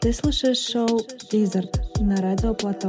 Ты слушаешь шоу «Wizard» на радио Плато.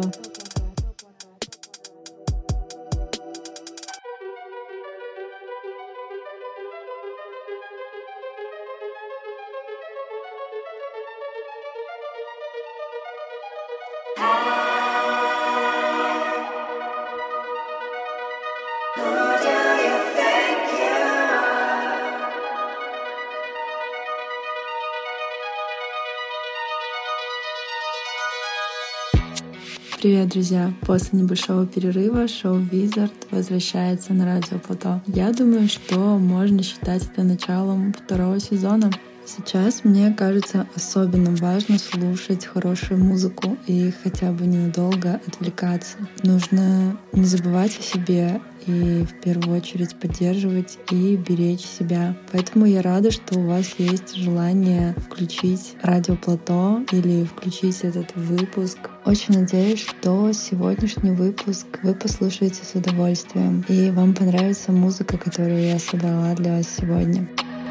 Привет, друзья! После небольшого перерыва шоу «Wizard» возвращается на радио Плато. Я думаю, что можно считать это началом второго сезона. Сейчас мне кажется особенно важно слушать хорошую музыку и хотя бы ненадолго отвлекаться. Нужно не забывать о себе и в первую очередь поддерживать и беречь себя. Поэтому я рада, что у вас есть желание включить радио Плато или включить этот выпуск. Очень надеюсь, что сегодняшний выпуск вы послушаете с удовольствием и вам понравится музыка, которую я собрала для вас сегодня.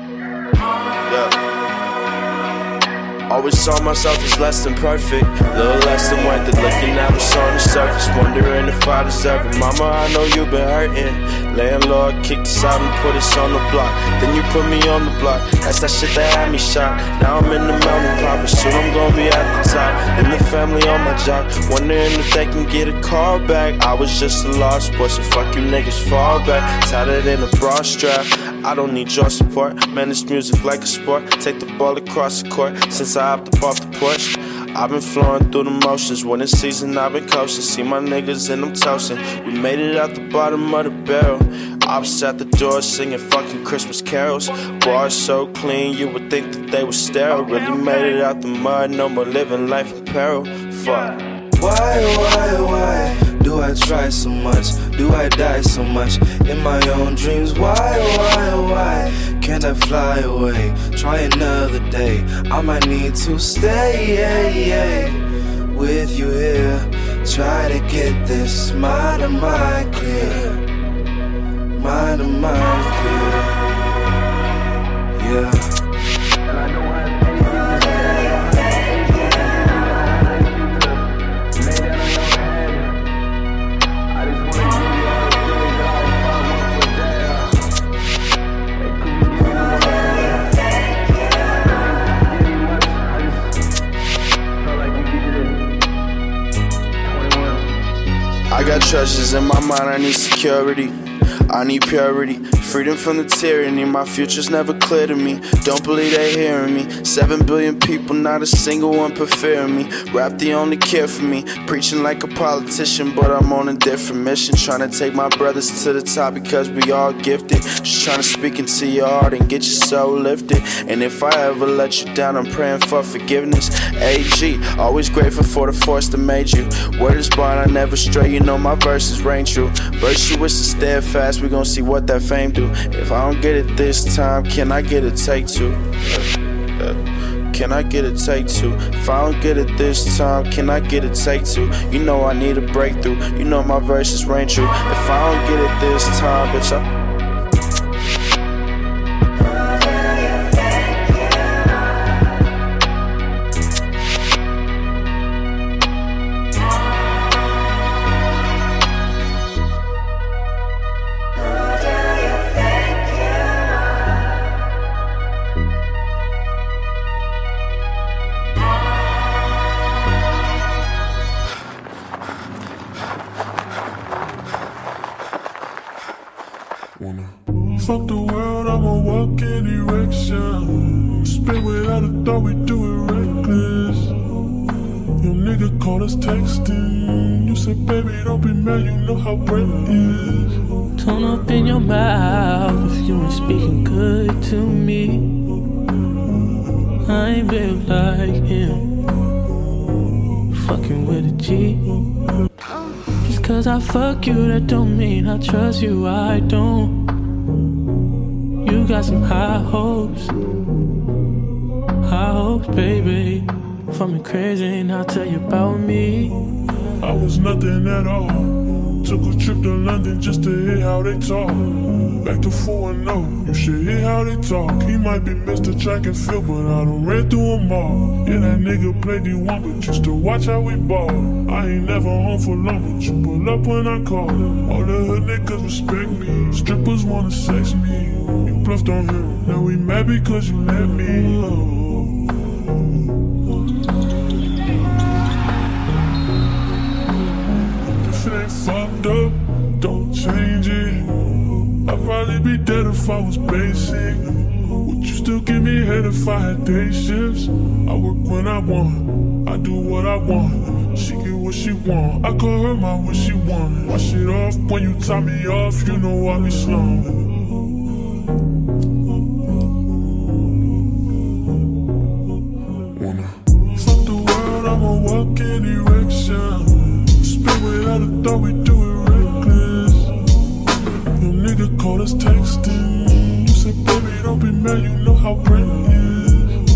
Always saw myself as less than perfect, little less than worth it. Looking at what's on the surface, wondering if I deserve it. Mama, I know you've been hurting. Landlord kicked us out and put us on the block. Then you put me on the block. That's that shit that had me shocked. Now I'm in the mountain poppin', soon I'm gonna be at the top. And the family on my job, wondering if they can get a call back. I was just a lost boy, so fuck you niggas, fall back. Tighter than a bra strap. I don't need your support. Man, this music like a sport. Take the ball across the court. Since I hopped up off the porch, I've been flowing through the motions. When it's season, I've been coasting. See my niggas and I'm toasting. We made it out the bottom of the barrel. I was at the door singing fucking Christmas carols. Bars so clean, you would think that they were sterile. Really made it out the mud, no more living life in peril. Fuck. Why do I try so much? Do I die so much in my own dreams? Why can't I fly away? Try another day. I might need to stay with you here. Try to get this mind of mine clear. Mind of mine clear. Yeah. I got treasures in my mind, I need security, I need purity, freedom from the tyranny, my future's never clear to me, don't believe they hearing me, 7 billion people, not a single one preferring me, rap the only care for me, preaching like a politician, but I'm on a different mission, trying to take my brothers to the top because we all gifted, just trying to speak into your heart and get your soul lifted, and if I ever let you down, I'm praying for forgiveness, AG, always grateful for the force that made you, word is bond, I never stray, you know my verses reign true, virtuous and steadfast, we gon' see what that fame do, if I don't get it this time, can I get a take two? Can I get a take two? If I don't get it this time, can I get a take two? You know I need a breakthrough, you know my verses reign true. If I don't get it this time, bitch, Fuck the world, I'ma walk in erection. Spit without a thought, we do it reckless. Your nigga called us texting. You said, baby, don't be mad, you know how Brett is. Tone up in your mouth if you ain't speaking good to me. I ain't built like him. Fucking with a G. Just cause I fuck you, that don't mean I trust you, I don't. You got some high hopes, baby. For me crazy and I'll tell you about me. I was nothing at all. Took a trip to London just to hear how they talk. Back to 4-0, you should hear how they talk. He might be Mr. Track and Field, but I done ran through them all. Yeah, that nigga played D1, but used to watch how we ball. I ain't never home for long, but you pull up when I call. All the hood niggas respect me. Strippers wanna sex me. You bluffed on him, now we mad because you let me. If it ain't fucked up, don't change it. I'd probably be dead if I was basic. Would you still give me head if I had day shifts? I work when I want, I do what I want. She get what she want, I call her my what she want. Wash it off when you tie me off, you know I be slung. I'ma walk in erection. Spit without a thought, we do it reckless. Your nigga called us texting. You said, baby, don't be mad, you know how Brent is.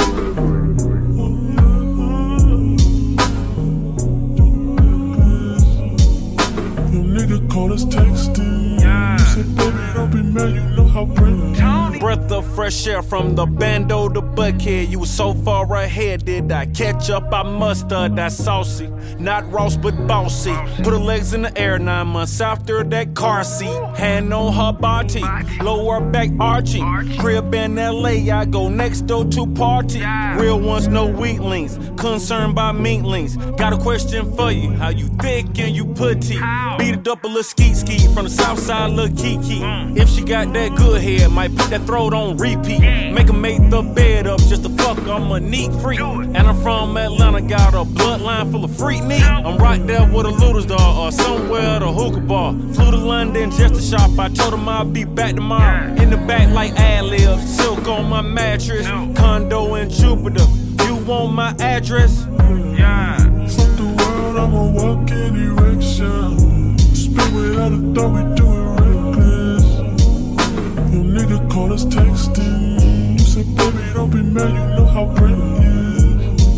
Your nigga called us texting. You said, baby, don't be mad, you know how Brent is. Breath of fresh air from the bando to Buckhead. You were so far ahead, did I catch up? I mustard that saucy, not Ross but bossy. Put her legs in the air 9 months after that car seat. Hand on her body, lower back arching. Crib in LA, I go next door to party. Real ones, no weaklings, concerned by meatlings. Got a question for you, how you thick and you putty? Beat it up a little skeet from the south side, little Kiki. If she got that good head, might put that throat on repeat. Make her make the bed up just to fuck, I'm a neat freak. And I'm from Atlanta, got a bloodline full of freak meat. I'm right there with a Luda's dog or somewhere at a hookah bar. Flew to London just to shop, I told him I'd be back tomorrow. In the back like ad-libs, silk on my mattress. Condo in Jupiter, you want my address? Yeah. Fuck the world, I'ma walk in erection. Spit without a thought, we do it reckless. Your nigga called us texting. You said, baby, don't be mad, you know how Brent is.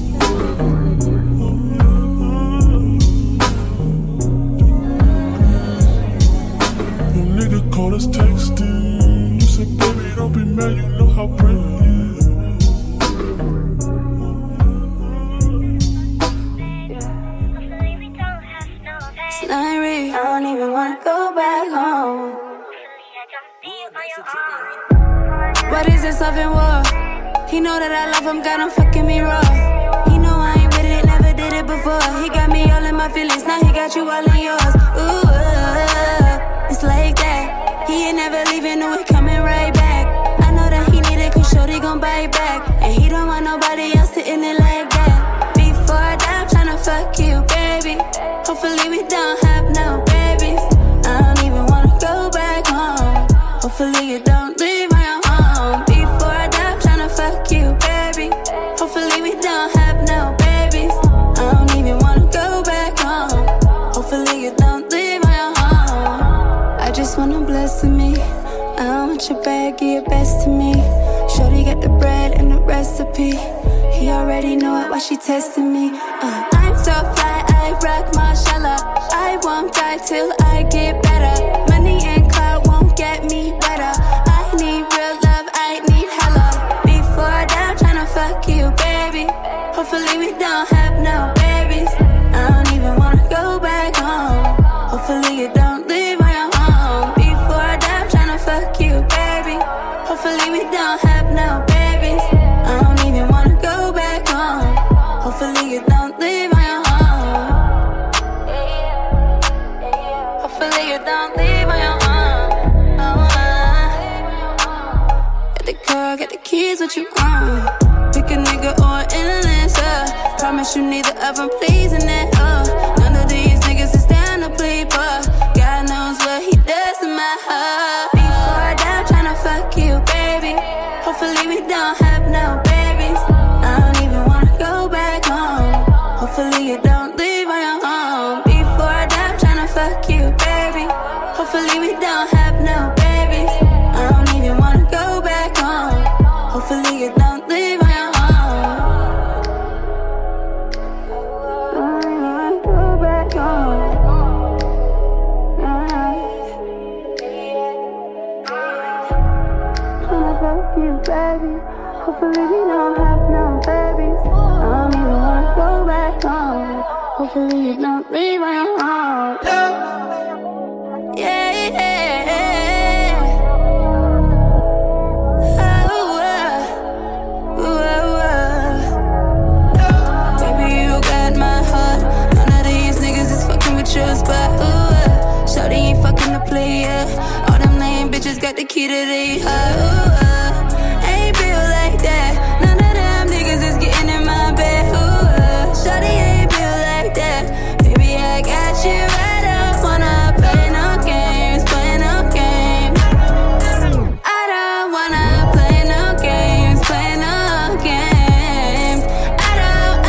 Your nigga called us texting. You said, baby, don't be mad, you know how Brent is. It's not real, I don't even wanna go back home. What is this love and war? He know that I love him, got him fucking me raw. He know I ain't with it, never did it before. He got me all in my feelings, now he got you all in yours. Ooh, it's like that. He ain't never leaving, no, he coming right back. I know that he need it, cause shorty gon' bite back. And he don't want nobody else sitting it like that. Before I die, I'm tryna fuck you, baby. Hopefully we don't have no babies. I don't even wanna go back home. Hopefully you don't leave my home. Before I die, I'm tryna fuck you, baby. Hopefully we don't have no babies. I don't even wanna go back home. Hopefully you don't leave my home. I just wanna bless me. I don't want your bag, give your best to me. Shorty got the bread and the recipe. He already know it, why she testing me. I'm so fly, I rock Marshalla. I won't die till I get better. Money and clout won't get me better. I need real love, I need hella. Before I die, I'm tryna fuck you, baby. Hopefully we don't have no babies. I don't even wanna go back home. Hopefully you don't leave my home. Before I die, I'm tryna fuck you, baby. Hopefully we don't have no babies. I don't even wanna go back home. Hopefully you don't leave my home. Hopefully you don't leave my home. Get the car, get the keys, what you want? Pick a nigga or an endless, promise you neither of them pleasing it, None of these niggas is down to plead, but God knows what he does to my heart. Before I die, I'm tryna fuck you, baby. Hopefully we don't have no babies. I don't even wanna go back home. Hopefully you don't leave my home. Before I die, I'm tryna fuck you, baby. Hopefully we don't have no babies. I don't even wanna go back home. Hopefully you don't leave my home. I don't wanna go back home. Hopefully we don't have no babies. I don't even wanna go back home. Hopefully you don't leave my home. Yeah, yeah. Baby, you got my heart. None of these niggas is fucking with yours, but shawty ain't fucking the player. All them lame bitches got the key to their heart. Ain't built like that. None of them niggas is getting in my bed. Shawty ain't built like that. Baby, I got you right up. Wanna play no games, play no games. I don't wanna play no games, play no games. I don't.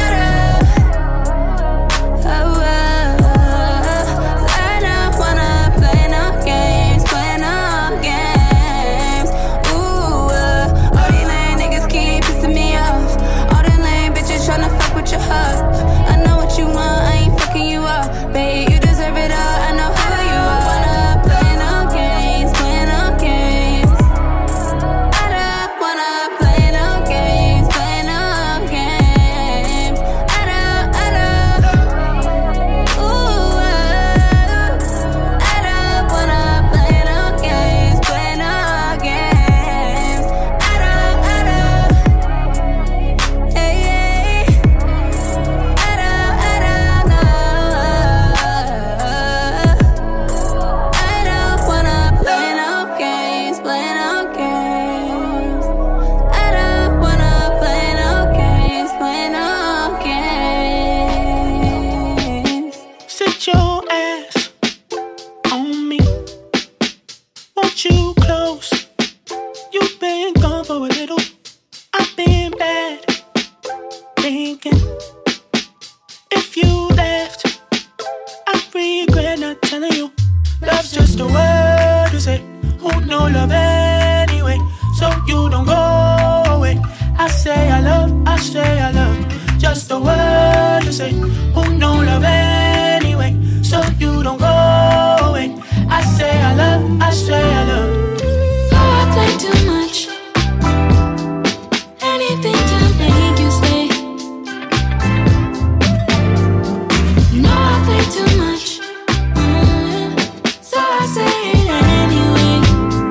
I don't wanna play no games, play no games. Ooh, all these lame niggas keep pissing me off. All them lame bitches tryna fuck with your heart. I know what you want, I ain't fucking you up. Babe, you deserve it all, I know who you are. Wanna play no games, play no games. I don't wanna play no games, play no games. I don't. Ooh, I don't wanna play no games, play no games. I don't. Hey, I don't know. I don't wanna play no games, play no games. I don't wanna play no games, play no games. Sit your ass on me. Want you close? You've been gone for a little. I've been bad. Thinking if you left, I regret not telling you. Love's just a word to say. Who know love anyway? So you don't go away. I say I love, I say I love. Just a word to say. Who know love anyway? So you don't go away. I say I love, I say I love. Oh, I play too much. Anything to make you stay. No, I play too much. So I say it anyway.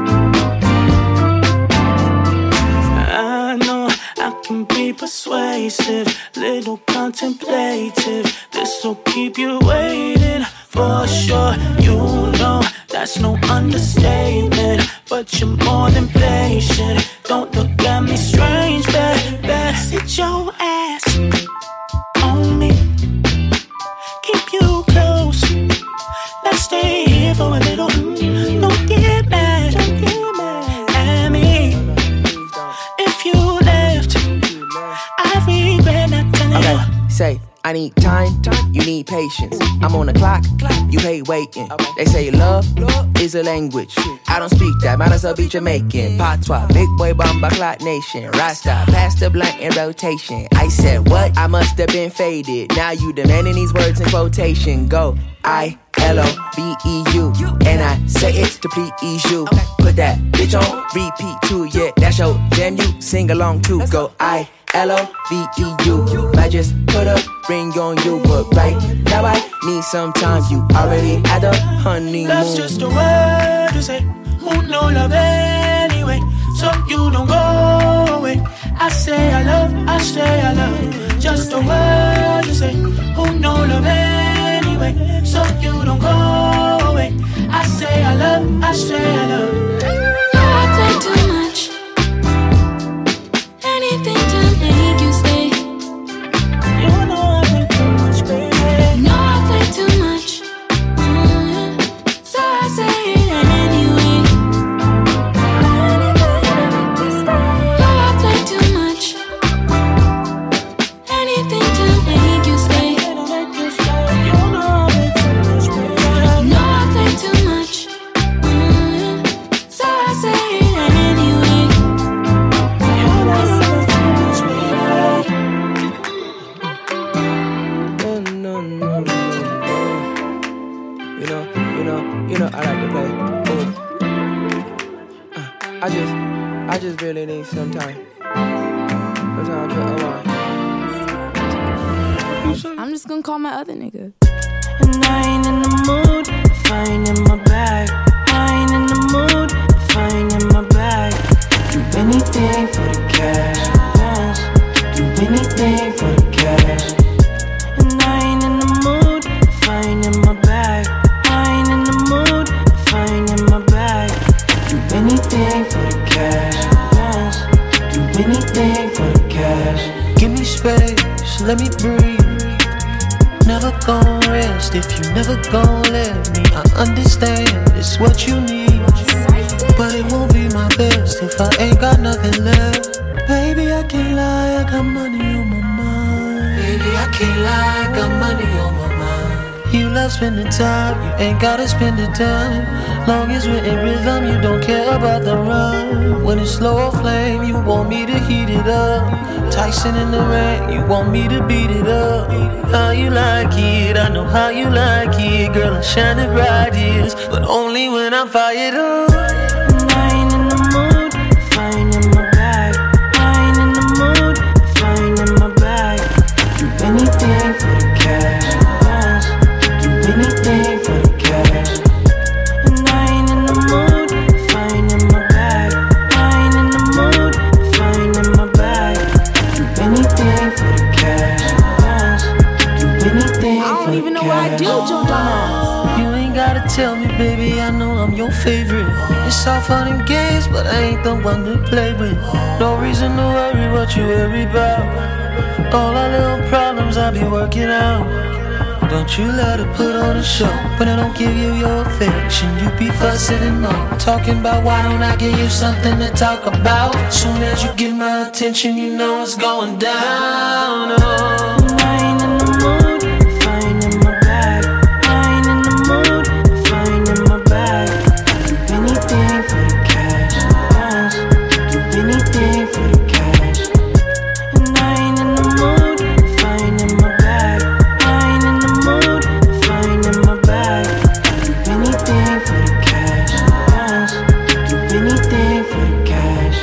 I know I can be persuasive, little contemplative. This'll keep you waiting for sure. You know that's no understatement, but you're more than patient. Don't look at me strange, baby. Sit your ass on me, keep you close. Let's stay here for a little. Don't get mad at me. If you left, I regret not telling you. Okay, say, I need time, you need patience. I'm on the clock, you hate waiting. They say love is a language. I don't speak that, might as well be Jamaican. Patois, big boy bomba clock nation. Rasta, pass the blunt in rotation. I said what? I must have been faded. Now you demanding these words in quotation. Go, I-L-O-V-E-U. And I say it to please you. Put that bitch on repeat too, yeah, that's your jam, you sing along too. Go, I-L-O-V-E-U. I just put a ring on you, but right now I need some time. You already had a honeymoon. Love's just a word to say. Who know love anyway? So you don't go away. I say I love, I say I love. Just a word to say. Who know love anyway? So you don't go away. I say I love, I say I love. Yeah, I play too much. Anything to make you stay. You know I play too much, baby. No, I play too much. So I say it anyway. Yeah, I play too much. Anything to make you stay. You know I play too much, baby. No, I play too much. So I just gonna call my other nigga. And I ain't in the mood if I ain't in my bag. I ain't in the mood if I ain't in my bag. Do anything for the cash, yes. Do anything for the cash. And I ain't in the mood if I ain't in my bag. I ain't in the mood if I ain't in my bag. Do anything for the cash, yes. Do anything for the cash. Give me space, let me breathe. Never gon' rest if you never gon' let me. I understand it's what you need, but it won't be my best if I ain't got nothing left. Baby, I can't lie, I got money on my mind. Baby, I can't lie, I got money on my mind. You love spending time, you ain't gotta spend the time. Long as we're in rhythm, you don't care about the run. When it's slow or flame, you want me to heat it up. Tyson in the rain, you want me to beat it up. How you like it, I know how you like it. Girl, I shine it bright, yes, but only when I'm fired up. And I ain't in the mood if I ain't in my bag. I ain't in the mood if I ain't in my bag. Do anything for the cash, yes. Do anything for the cash. And I ain't in the mood if I ain't in my bag. I ain't in the mood if I ain't in my bag. Do anything for the cash, yes. Do anything for the cash. I don't even know what I do, Joe Dumbass. You ain't gotta tell me, baby, I know I'm your favorite. It's all fun and games, but I ain't the one to play with. No reason to worry what you worry about. All our little problems I'll be working out. Don't you let her put on a show when I don't give you your affection. You be fussing and all, talking about why don't I give you something to talk about. Soon as you get my attention, you know it's going down. Oh. I ain't in the mood if I ain't in my bag. I ain't in the mood if I ain't in my bag. Do anything for the cash, yes. Do anything for the cash. And I ain't in the mood if I ain't in my bag. I ain't in the mood if I ain't in my bag. Do anything for the cash, yes. Do anything for the cash.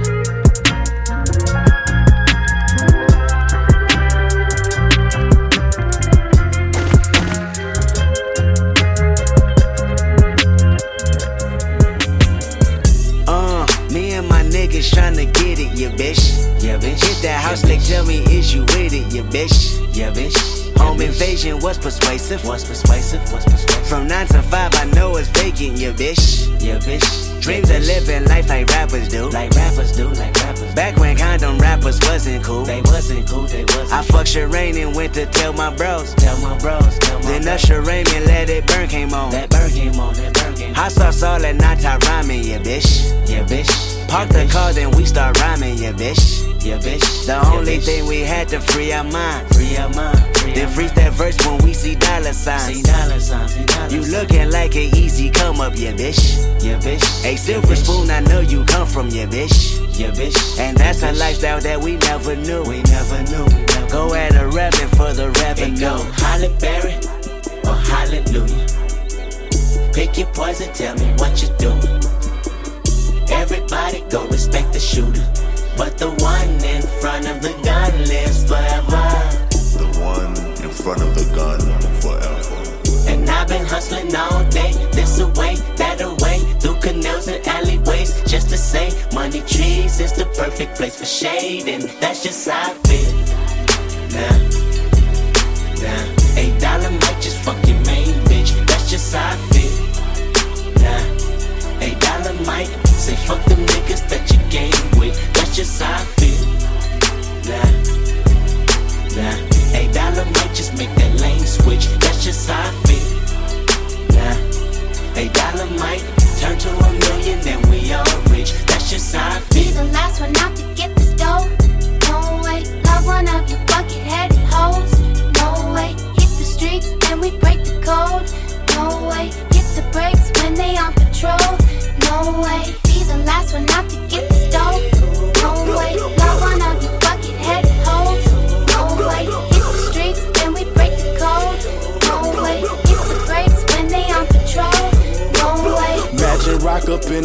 Me and my niggas tryna get it, yeah, bitch. Yeah, bitch. Hit that house, they tell me, is you with it, yeah, bitch. Yeah, bitch. Home invasion was persuasive. What's persuasive? What's persuasive? From 9 to 5, I know it's vacant, yeah, bitch. Yeah, bitch. Dreams of living life like rappers do. Like rappers do, like rappers. Back when condom rappers wasn't cool. They wasn't cool, they wasn't. I fucked Sherane and went to tell my bros. Tell my bros, tell my then Usher Raymond Let It Burn came on. That burn came on, that burn came on. Hot sauce all that night I rhyming, yeah, bitch. Yeah, bitch. Park the car, then we start rhyming, yeah, bitch. Yeah, bitch. The only thing we had to free our mind. Free our mind. Then freeze that verse when we see dollar signs. See dollar signs. You looking like an easy come up, yeah, bitch. Yeah, bitch. A silver spoon, I know you come from, yeah, bitch. Yeah, bitch. And that's a lifestyle that we never knew. We never knew. Go at a rapping for the revenue. Go Halle Berry or Hallelujah. Pick your poison, tell me what you're doing. Everybody go respect the shooter, but the one in front of the gun lives forever. The one in front of the gun forever. And I've been hustling all day, this away, that away, through canals and alleyways, just to say, money trees is the perfect place for shade, and that's just how I feel. Nah, $8 might just fuck your main bitch, that's just how I feel. Nah, $8 might say fuck them niggas that you game with, that's just how I feel. Nah, $8 might just make that lane switch, that's just how I feel. Nah, $8 might turn to $1 million and we all rich, that's just how I feel. Be the last one out to get this dough. No way, love one of you bucket-headed hoes. No way, hit the streets and we break the code. No way, hit the brakes when they on patrol. No way, be the last one out to get this dough. No way, love one of you bucket-headed hoes. No way, hit the streets and we break the code. No way, hit the brakes when they on patrol. No way. Magic rock up in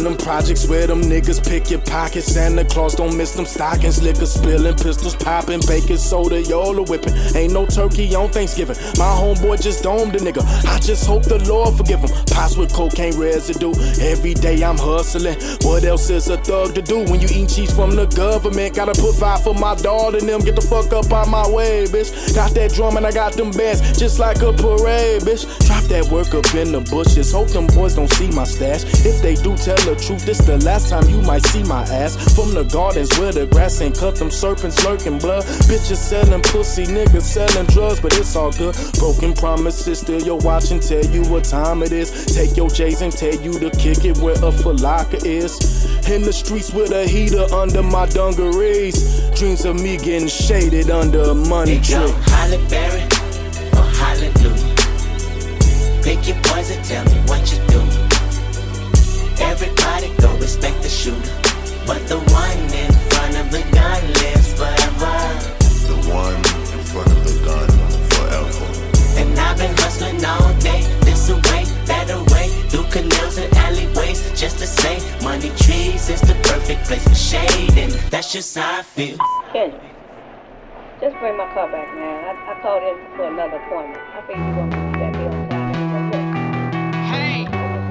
them projects where them niggas pick your pockets. Santa Claus don't miss them stockings. Liquor spilling, pistols popping, baking soda, y'all are whipping. Ain't no turkey on Thanksgiving. My homeboy just domed a nigga. I just hope the Lord forgive him. Pots with cocaine residue. Every day I'm hustling. What else is a thug to do when you eat cheese from the government? Gotta put five for my dog and them. Get the fuck up out my way, bitch. Got that drum and I got them bands, just like a parade, bitch. Drop that work up in the bushes. Hope them boys don't see my stash. If they do, tell the truth. This the last time you might see my ass. From the gardens where the grass ain't cut, them serpents lurking blood. Bitches selling pussy, niggas selling drugs, but it's all good. Broken promises, still your watch and tell you what time it is. Take your J's and tell you to kick it where a falaka is. In the streets with a heater under my dungarees. Dreams of me getting shaded under a money tree. Holly Berry or Hallelujah. Pick your poison, tell me what you do. Everybody go respect the shooter, but the one in front of the gun lives forever. The one in front of the gun forever. And I've been hustling all day, this away, that away, through canals and alleyways, just to say, money trees is the perfect place for shade, and that's just how I feel. Kendrick, just bring my car back, man. I called in for another appointment. I think you're gonna keep that bill on time. Hey.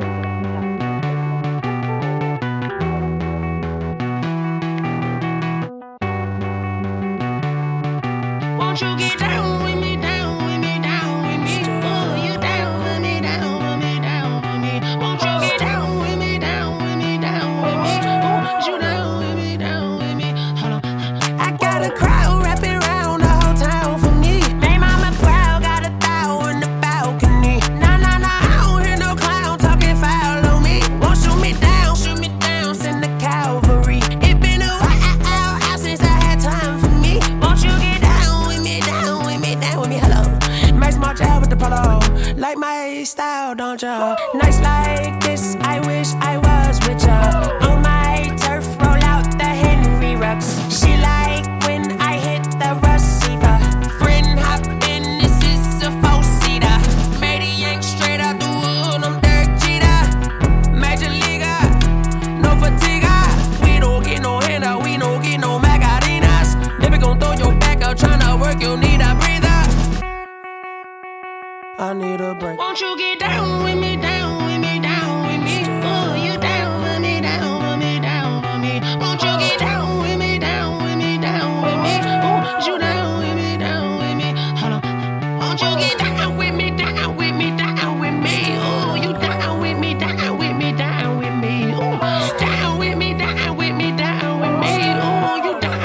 Won't you get down with me, down with me, down with me? Oh, you down with me, down with me, down with me. Won't you get down with me, down with me, down with me? Oh, you down with me, down with me? Hold on. I got a crowd wrapping around the whole town for me. They mama proud, got a thou in the balcony. Nah, nah, nah, I don't hear no clown talking foul on me. Won't shoot me down, send the cavalry. It been a while since I had time for me. Won't you get down with me, down with me, down with me? Hello. Max March out with the polo. Like my style, don't ya? Nights like this, I wish I was with ya. On my turf, roll out the Henry Rux. She like when I hit the receiver. Friend hop in, this is a four-seater. Made a yank straight out the wood, I'm Derek Jeter. Major leaguer, no fatigue. We don't get no handout, we don't get no Macarinas. Never gon' throw your back out, tryna work, you need a breather. I need a break. Won't you get down with me, down with me, down with me? Oh, you down with me, down with me, down with me? Won't you get down with me, down with me, down with me? Oh, you down with me, down with me? Hold on. Won't you get down with me, down with me, down with me? Oh, you down with me, down with me, down with me? Oh, down with me, down with me, down with me? Oh, you down?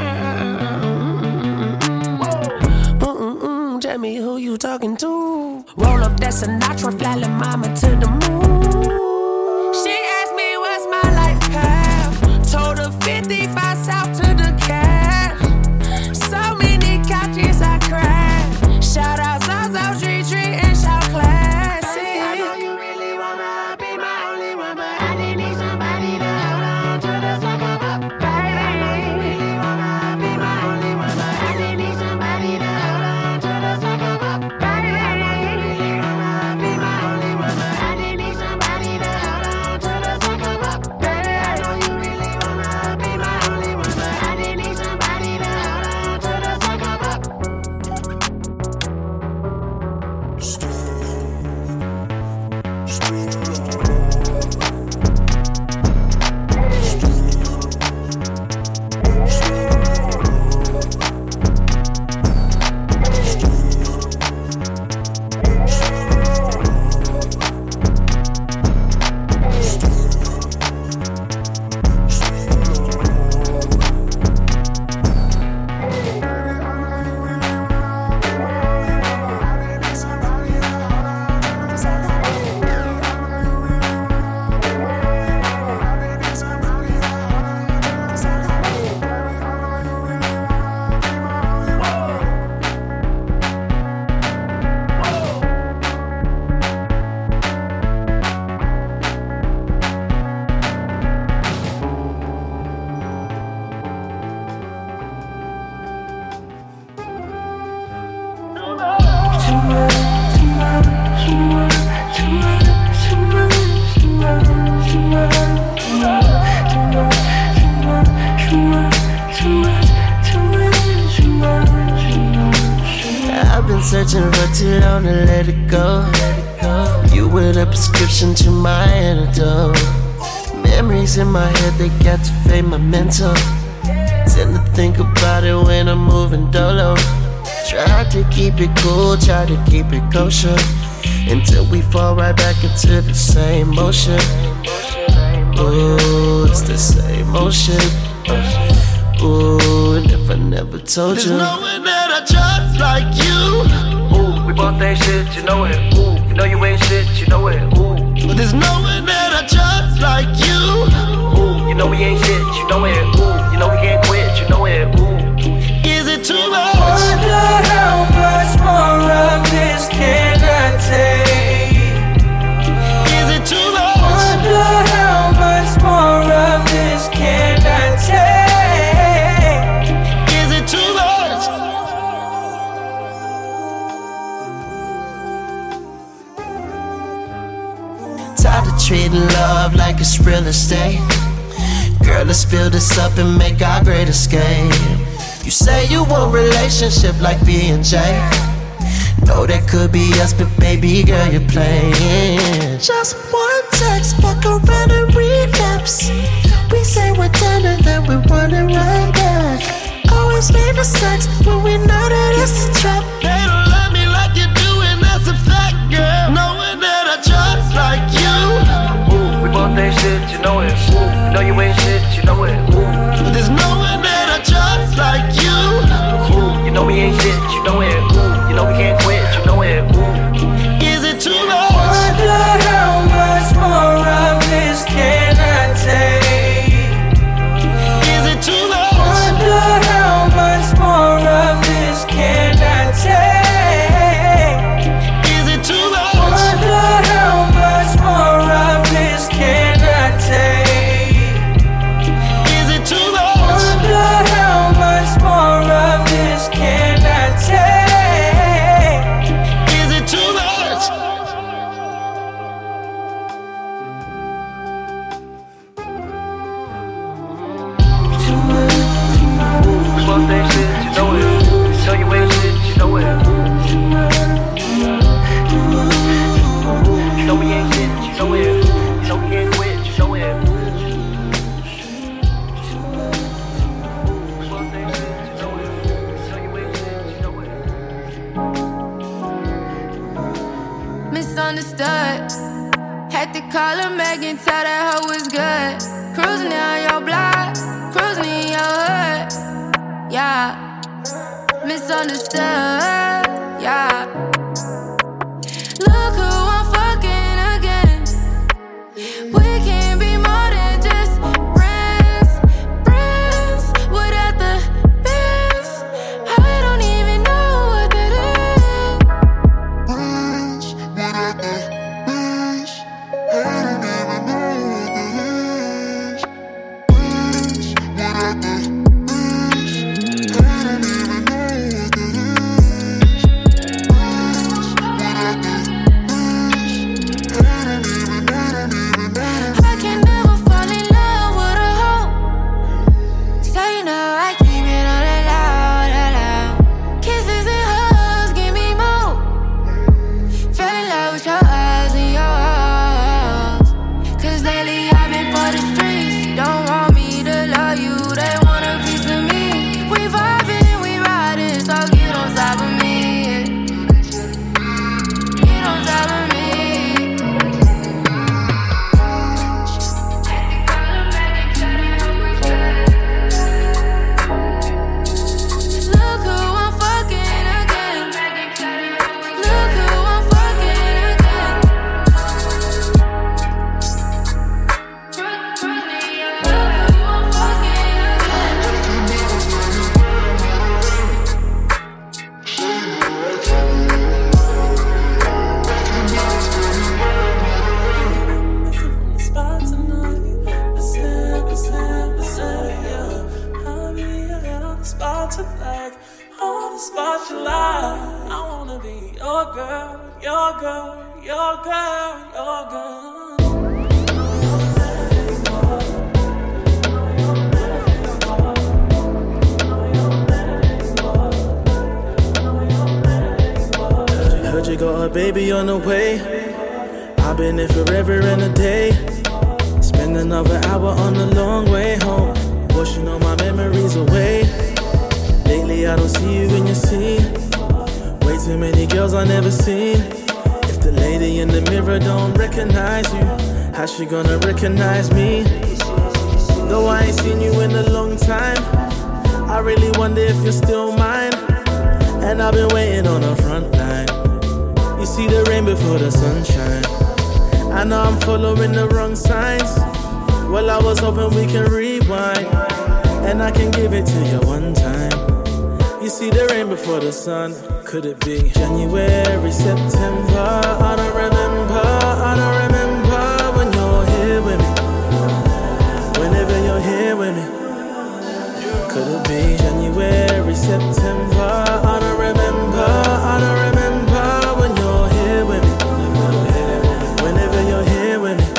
Tell me who you talking to. Roll up that Sinatra, fly la mama to the moon. She asked me what's my life path. Told her 55 south to the cash. So many couches I crashed. Shout out Zazo, Tree, and shout classic. I know you really wanna be my only one, but I didn't need somebody to hold on to the sucker up. Baby, I know you really wanna be my only one, but I didn't need somebody to hold on to the sucker up. Baby, I know you really wanna be my only one, but I didn't need searching for too long to let it go. You were the prescription to my antidote. Memories in my head, they got to fade my mental. Tend to think about it when I'm moving dolo. Try to keep it cool, try to keep it kosher, until we fall right back into the same motion. Ooh, it's the same motion. Ooh, and if I never told you, there's no one that I trust like you. Ooh, we both ain't shit, you know it. Ooh, you know you ain't shit, you know it. Ooh, but there's no one that I trust like you. Ooh, you know we ain't shit, you know it. Ooh, you know we can't quit, you know it. Ooh, is it too much? Wonder how much more of this can I take? Is it too much? Wonder how much more of this can I take? Is it too much? Tired of treating love like it's real estate. Girl, let's build this up and make our great escape. You say you want relationship like B&J. Know that could be us, but baby girl, you're playing. Just one text, fuck around and relapse. We say we're done and then we're running right back. Always need the sex when we know that it's a trap. They don't love me like you do, and that's a fact, girl. No one that I trust like you. Ooh, we both ain't shit, you know it. Ooh, you know you ain't shit, you know it. Ooh, there's no one that I trust like you. Ooh, you know we ain't shit, you know it. Ooh, you know we can't quit, you know it. Ooh, is it too much? Wonder how much more of this can I take? Is it too much? Wonder how much more of this can I take? Is it too much? Wonder how much more of this can I take? Is it too much? Wonder how much more of this can I take? Is it too much? we both ain't shit, you know it. You know you ain't shit, you know it. You know we ain't shit, you know it. You know we can't quit, you know it. We both ain't shit, you know it. You know you ain't shit, you know it. Misunderstood. Had to call her back and tell that hoe was good. Cruising down your block, cruising in your hood. Yeah. Misunderstood. Yeah. Look who I'm fucking again. We can be more than just friends. Friends without the biz. I don't even know what that is. Friends without the biz. I don't even know what that is. Friends without the biz. I don't even know what that is. I can never fall in love with a hoe. So you know I keep it on the loud. Kisses and hugs give me more. Fell in love with your eyes and your heart. 'Cause lately I've been for the streets. Don't want me to love you, they want a piece of me. We vibing, we riding, so get on top of me. Get on top of me. Look who I'm fucking again. Look who I'm fucking again. Look who I'm fucking again. Spot tonight, I'll be on the spot tonight, on the spot you lie. I wanna be your girl, your girl, your girl, your girl. she got her baby on the way. I've been here forever and a day. Spend another hour on the long way home, washing all my memories away. Lately I don't see you in your scene. Way too many girls I never seen. If the lady in the mirror don't recognize you, how's she gonna recognize me? Though I ain't seen you in a long time, I really wonder if you're still mine. And I've been waiting on the front line. You see the rain before the sunshine. I know I'm following the wrong signs. Well, I was hoping we can rewind, and I can give it to you one time. You see the rain before the sun. Could it be January, September? I don't remember when you're here with me. Whenever you're here with me. Could it be January, September? I don't remember when you're here with me. Whenever you're here with me.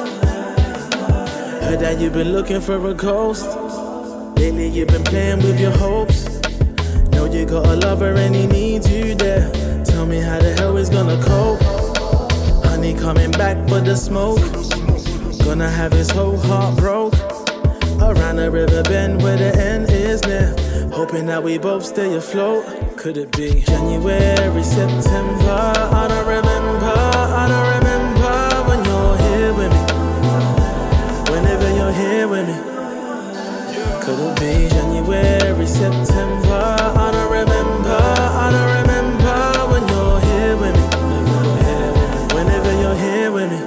Heard that you've been looking for a ghost. Lately you've been playing with your hopes. Know you got a lover and he needs you there. Tell me how the hell he's gonna cope. Honey coming back for the smoke. Gonna have his whole heart broke. Around the river bend where the end is near. Hoping that we both stay afloat. Could it be January, September? I don't remember when you're here with me. Whenever you're here with me. Could it be January, September? I don't remember when you're here with me. Whenever you're here with me.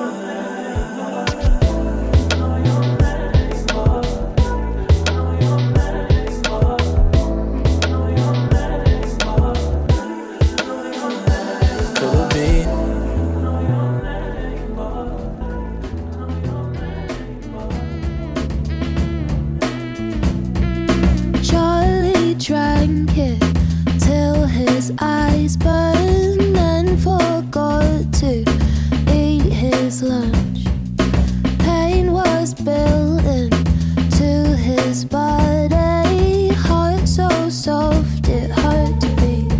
Eyes burned and forgot to eat his lunch. Pain was built into his body, heart so soft it hurt to beat.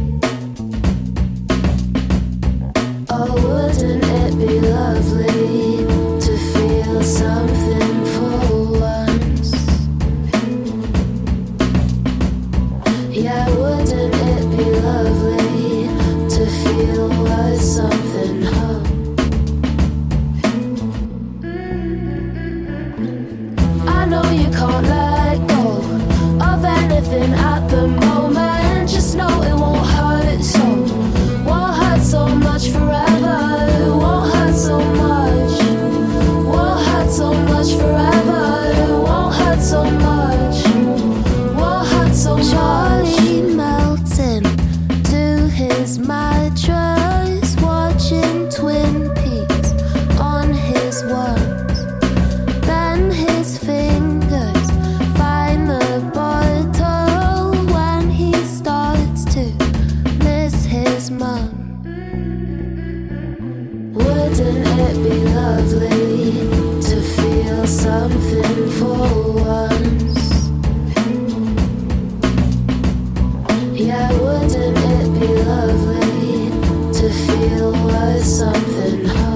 Oh, wouldn't it be lovely to feel something for once? Yeah, wouldn't it be lovely to feel worth something, huh? I know you can't let go of anything at the moment. Just know it won't hurt so. Won't hurt so much forever. It won't hurt so much. Won't hurt so much forever. It won't hurt so much. Won't hurt so much. Charlie melting to his mattress, watching Twin Peaks on his ones. Then his fingers find the bottle when he starts to miss his mum. Wouldn't it be lovely to feel something for once? Yeah, wouldn't it be lovely to feel worth something, huh?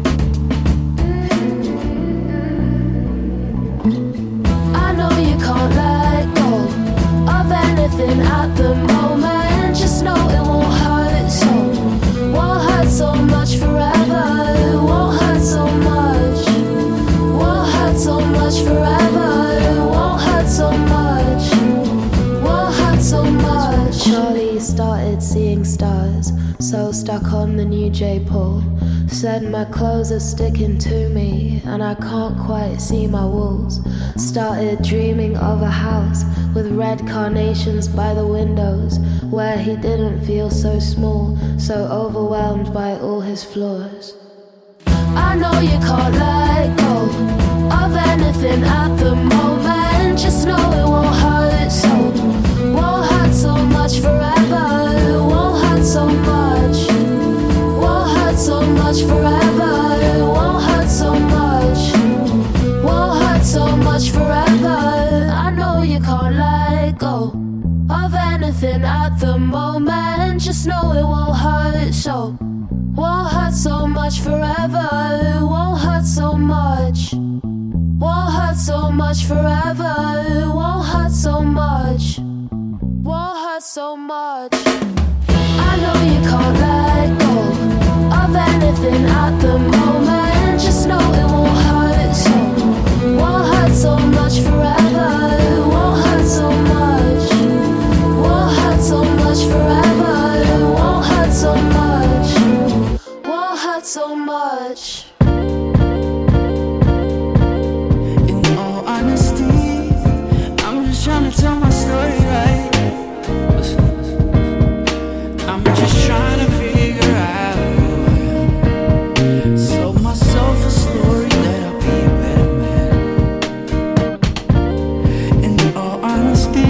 I know you can't let go of anything at the moment. Just know it won't hurt so. Won't hurt so much forever. It won't hurt so much. Won't hurt so much forever. It won't hurt so much. Won't hurt so much. Charlie started seeing stars, so stuck on the new J. Paul. Said my clothes are sticking to me, and I can't quite see my walls. Started dreaming of a house with red carnations by the windows, where he didn't feel so small, so overwhelmed by all his flaws. I know you can't let go of anything at the moment. Just know it won't hurt so. Won't hurt so much forever. It won't hurt so much. Won't hurt so much forever. It won't hurt so much. Won't hurt so much forever. I know you can't let go of of anything at the moment. Just know it won't hurt, so won't hurt so much forever. It won't hurt so much. Won't hurt so much forever. It won't hurt so much. Won't hurt so much. I know you can't let go of anything at the moment. Just know it won't hurt so. Won't hurt so much forever. It won't hurt so much. Won't hurt so much forever. It won't hurt so much. Won't hurt so much. In all honesty, I'm just trying to tell my story right. Listen. I'm just trying to figure out who I am. Sold myself a story that I'll be a better man. In all honesty,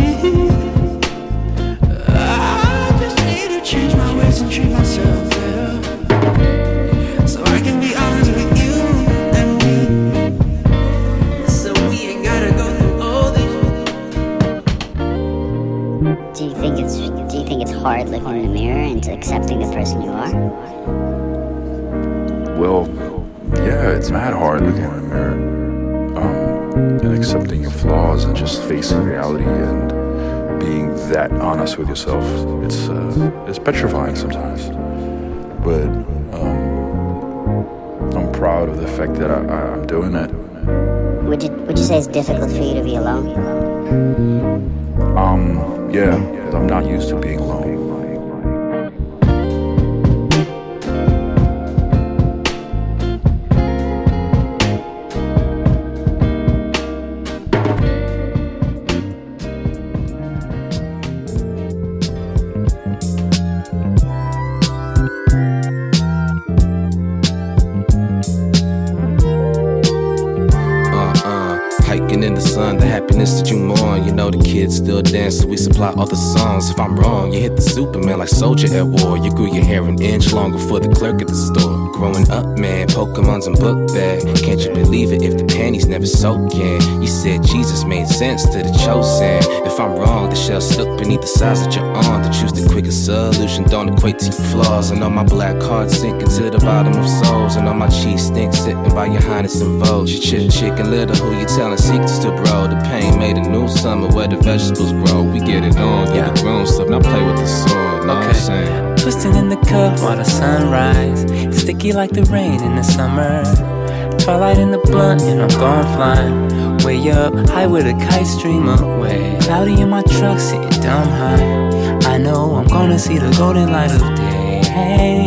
I just need to change my ways and treat myself better, so I can be honest with you and me. So we ain't gotta go through all this. Do you think it's hard looking in the mirror and accepting the person you are? Well, yeah, it's mad hard looking in the mirror, and accepting your flaws and just facing reality and being that honest with yourself. It's petrifying sometimes, but I'm proud of the fact that I'm doing it. Would you say it's difficult for you to be alone? Yeah, I'm not used to being alone. Hiking in the sun, the happiness that you mourn. You know the kids still dance, so we supply all the songs. If I'm wrong, you hit the Superman like Soldier at war. You grew your hair an inch longer for the clerk at the store. Growing up, man, Pokemon's in book bag. Can't you believe it if the panties never soak in? You said Jesus made sense to the chosen. If I'm wrong, the shell stuck beneath the size of your arm. To choose the quickest solution don't equate to your flaws. And all my black hearts sinking to the bottom of souls. And all my cheese stinks sitting by your highness in vogue. You chicken little, who you telling secrets to, bro? The pain made a new summer where the vegetables grow. We get it on, yeah, the grown stuff, now play with the sword, know what I'm saying? Twisting in the cup while the sunrise, sticky like the rain in the summer. Twilight in the blunt and I'm gone flying, way up high with a kite stream away. Cloudy in my truck sitting dumb high, I know I'm gonna see the golden light of day. Hey,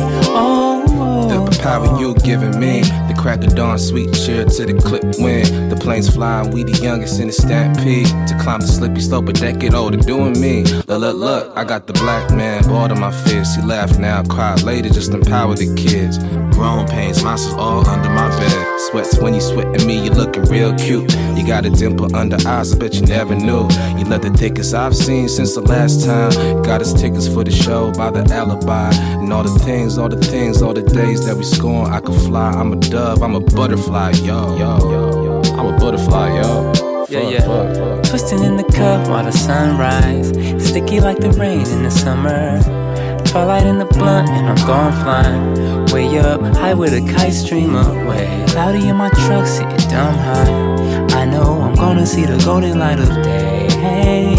oh, the power you giving me, the crack of dawn, sweet cheer to the clip wind. The planes flying, we the youngest in the stampede. To climb the slippy slope, a decade older, doing me. Look, I got the black man, bored of my fears. He laugh now, cry later, just empower the kids. Grown pains, monsters all under my bed. Sweats when you sweating me, you looking real cute. You got a dimple under eyes, I bet you never knew. You love the thickest I've seen since the last time. Got us tickets for the show by the alibi. And all the things, all the days that we scorn. I could fly, I'm a dove, I'm a butterfly, yo. I'm a butterfly, yo. Yeah. Twisting in the cup while the sunrise, sticky like the rain in the summer. Twilight in the blunt and I'm gone flying, way up high with a kite stream away. Cloudy in my truck sitting dumb high, I know I'm gonna see the golden light of day. Hey,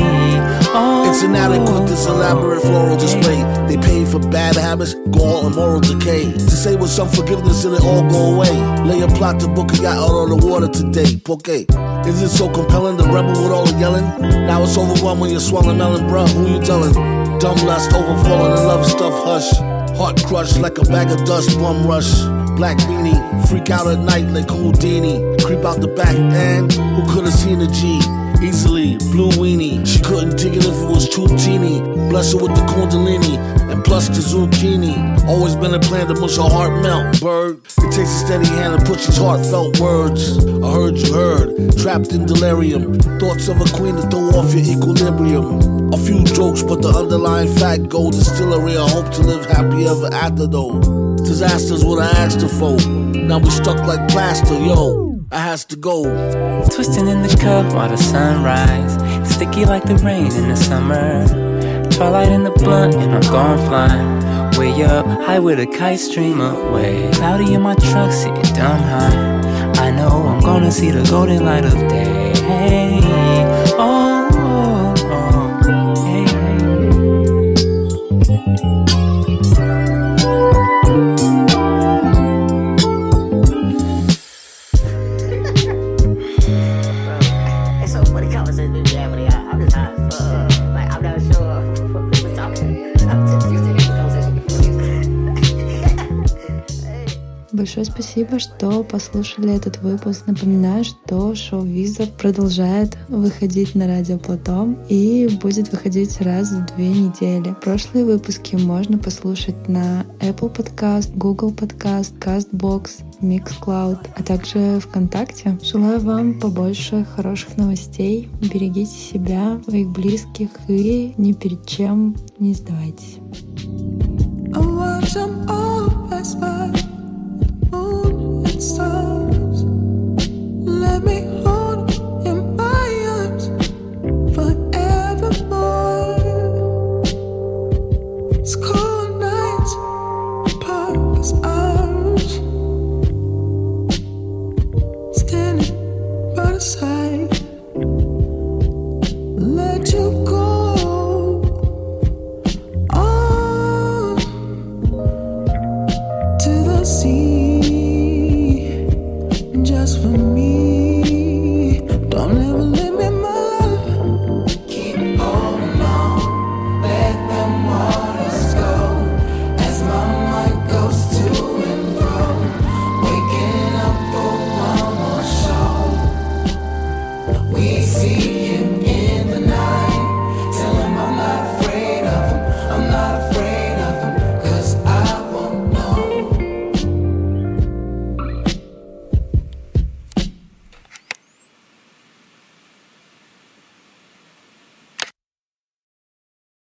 oh, it's inadequate, this elaborate floral display. They pay for bad habits, gall and moral decay. To say with some forgiveness and it all go away. Lay a plot to book a yacht out on the water today. Porque is it so compelling, the rebel with all the yelling? Now it's overwhelmed when you're swallowing melon, bruh, who you telling? Dumb lust, overflowing and love stuff, hush. Heart crushed like a bag of dust, bum rush. Black beanie, freak out at night like Houdini. Creep out the back and who could've seen a G? Easily, blue weenie. She couldn't dig it if it was too teeny. Bless her with the kundalini and plus the zucchini. Always been a plan to mush her heart melt, bird. It takes a steady hand to push these heartfelt words. I heard you heard, trapped in delirium. Thoughts of a queen to throw off your equilibrium. A few jokes, but the underlying fact gold distillery. I hope to live happy ever after though. Disaster's what I asked her for. Now we stuck like plaster, yo. I has to go. Twisting in the cup while the sunrise, sticky like the rain in the summer. Twilight in the blunt and I'm gone flying. Way up, high with a kite stream away. Cloudy in my truck, sitting dumb high. I know I'm gonna see the golden light of day. Hey, oh, oh, oh, hey. It's so funny conversation in Germany. I'm just high as fuck. Like, I'm not sure who was talking. I'm just used to hearing the conversation before. Большое спасибо, что послушали этот выпуск. Напоминаю, что шоу Виза продолжает выходить на радио Платон и будет выходить раз в 2 недели. Прошлые выпуски можно послушать на Apple Podcast, Google Podcast, CastBox, Mixcloud, а также ВКонтакте. Желаю вам побольше хороших новостей. Берегите себя, своих близких и ни перед чем не сдавайтесь. So